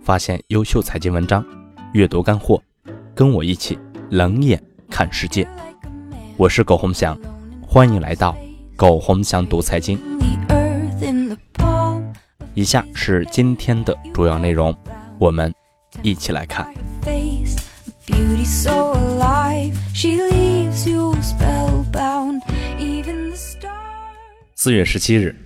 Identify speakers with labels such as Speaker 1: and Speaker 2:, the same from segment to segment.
Speaker 1: 发现优秀财经文章，阅读干货，跟我一起冷眼看世界。我是苟洪祥，欢迎来到苟洪祥读财经。以下是今天的主要内容，我们一起来看。4月17日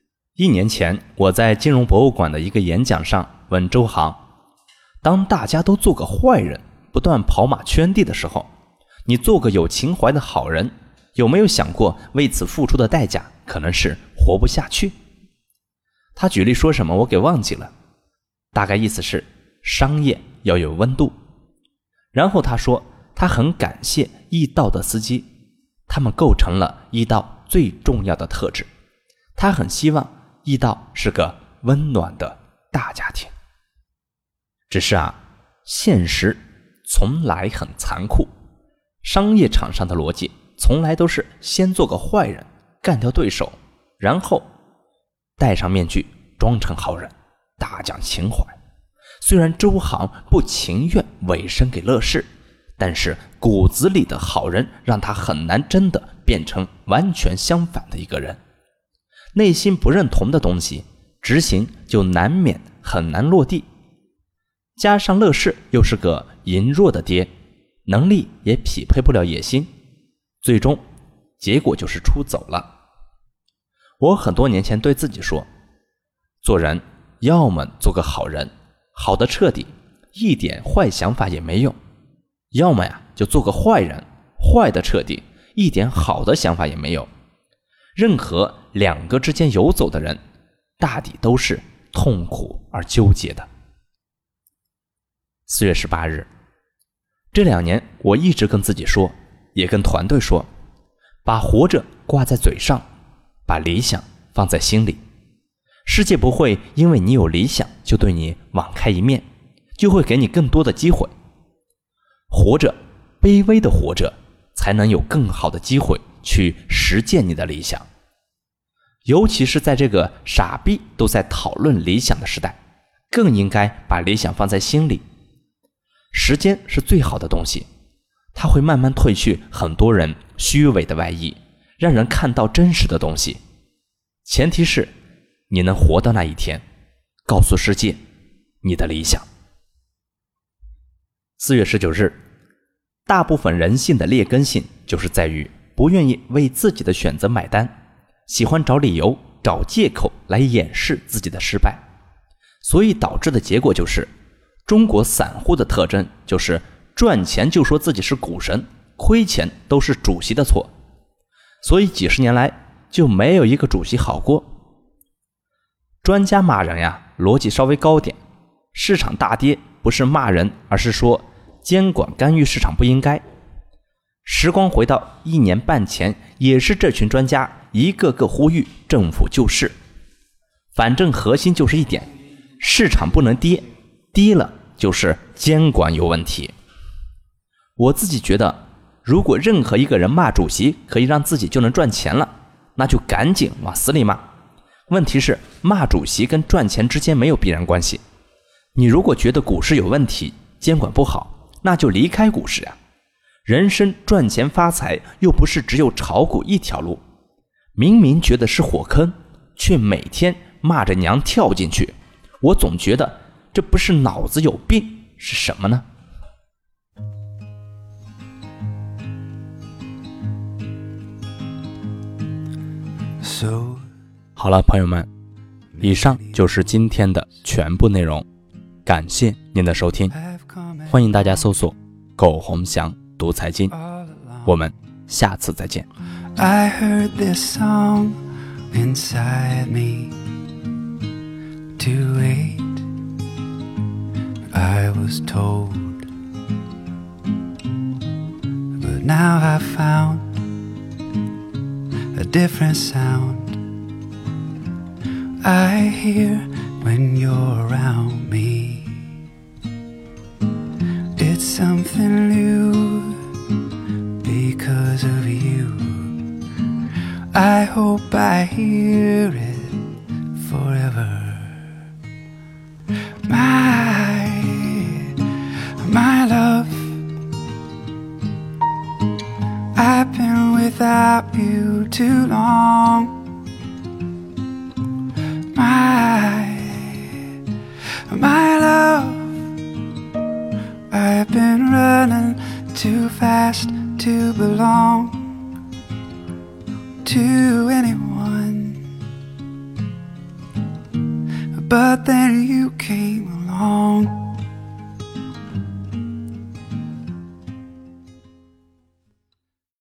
Speaker 1: ，1年前我在金融博物馆的一个演讲上问周航，当大家都做个坏人，不断跑马圈地的时候，你做个有情怀的好人，有没有想过为此付出的代价可能是活不下去？他举例说什么我给忘记了，大概意思是商业要有温度。然后他说他很感谢易到的司机，他们构成了易到最重要的特质。他很希望易到是个温暖的大家庭。只是现实从来很残酷，商业场上的逻辑从来都是先做个坏人，干掉对手，然后戴上面具装成好人，大讲情怀。虽然周航不情愿委身给乐视，但是骨子里的好人让他很难真的变成完全相反的一个人。内心不认同的东西，执行就难免很难落地。加上乐视又是个羸弱的爹，能力也匹配不了野心，最终结果就是出走了。我很多年前对自己说，做人要么做个好人，好的彻底，一点坏想法也没有；要么就做个坏人，坏的彻底，一点好的想法也没有。任何两个之间游走的人，大抵都是痛苦而纠结的。4月18日，这2年我一直跟自己说，也跟团队说，把活着挂在嘴上，把理想放在心里。世界不会因为你有理想就对你网开一面，就会给你更多的机会。活着，卑微的活着，才能有更好的机会去实践你的理想。尤其是在这个傻逼都在讨论理想的时代，更应该把理想放在心里。时间是最好的东西，它会慢慢褪去很多人虚伪的外衣，让人看到真实的东西。前提是你能活到那一天，告诉世界你的理想。4月19日，大部分人性的劣根性就是在于不愿意为自己的选择买单，喜欢找理由找借口来掩饰自己的失败，所以导致的结果就是中国散户的特征就是赚钱就说自己是股神，亏钱都是主席的错，所以几十年来就没有一个主席好过。专家骂人逻辑稍微高点，市场大跌不是骂人，而是说监管干预市场不应该。时光回到1年半前，也是这群专家一个个呼吁政府救市，反正核心就是一点，市场不能跌，低了就是监管有问题。我自己觉得，如果任何一个人骂主席可以让自己就能赚钱了，那就赶紧往死里骂。问题是骂主席跟赚钱之间没有必然关系。你如果觉得股市有问题，监管不好，那就离开股市人生赚钱发财又不是只有炒股一条路。明明觉得是火坑，却每天骂着娘跳进去，我总觉得这不是脑子有病是什么呢？好了，朋友们，以上就是今天的全部内容，感谢您的收听，欢迎大家搜索苟洪祥读财经，我们下次再见。
Speaker 2: I heard this song inside me to wait. I was told, but now I found a different sound I hear when you're around me. It's something new because of you. I hope I hear it forever. My I've been without you too long. My love, I've been running too fast to belong to anyone. But then you came along.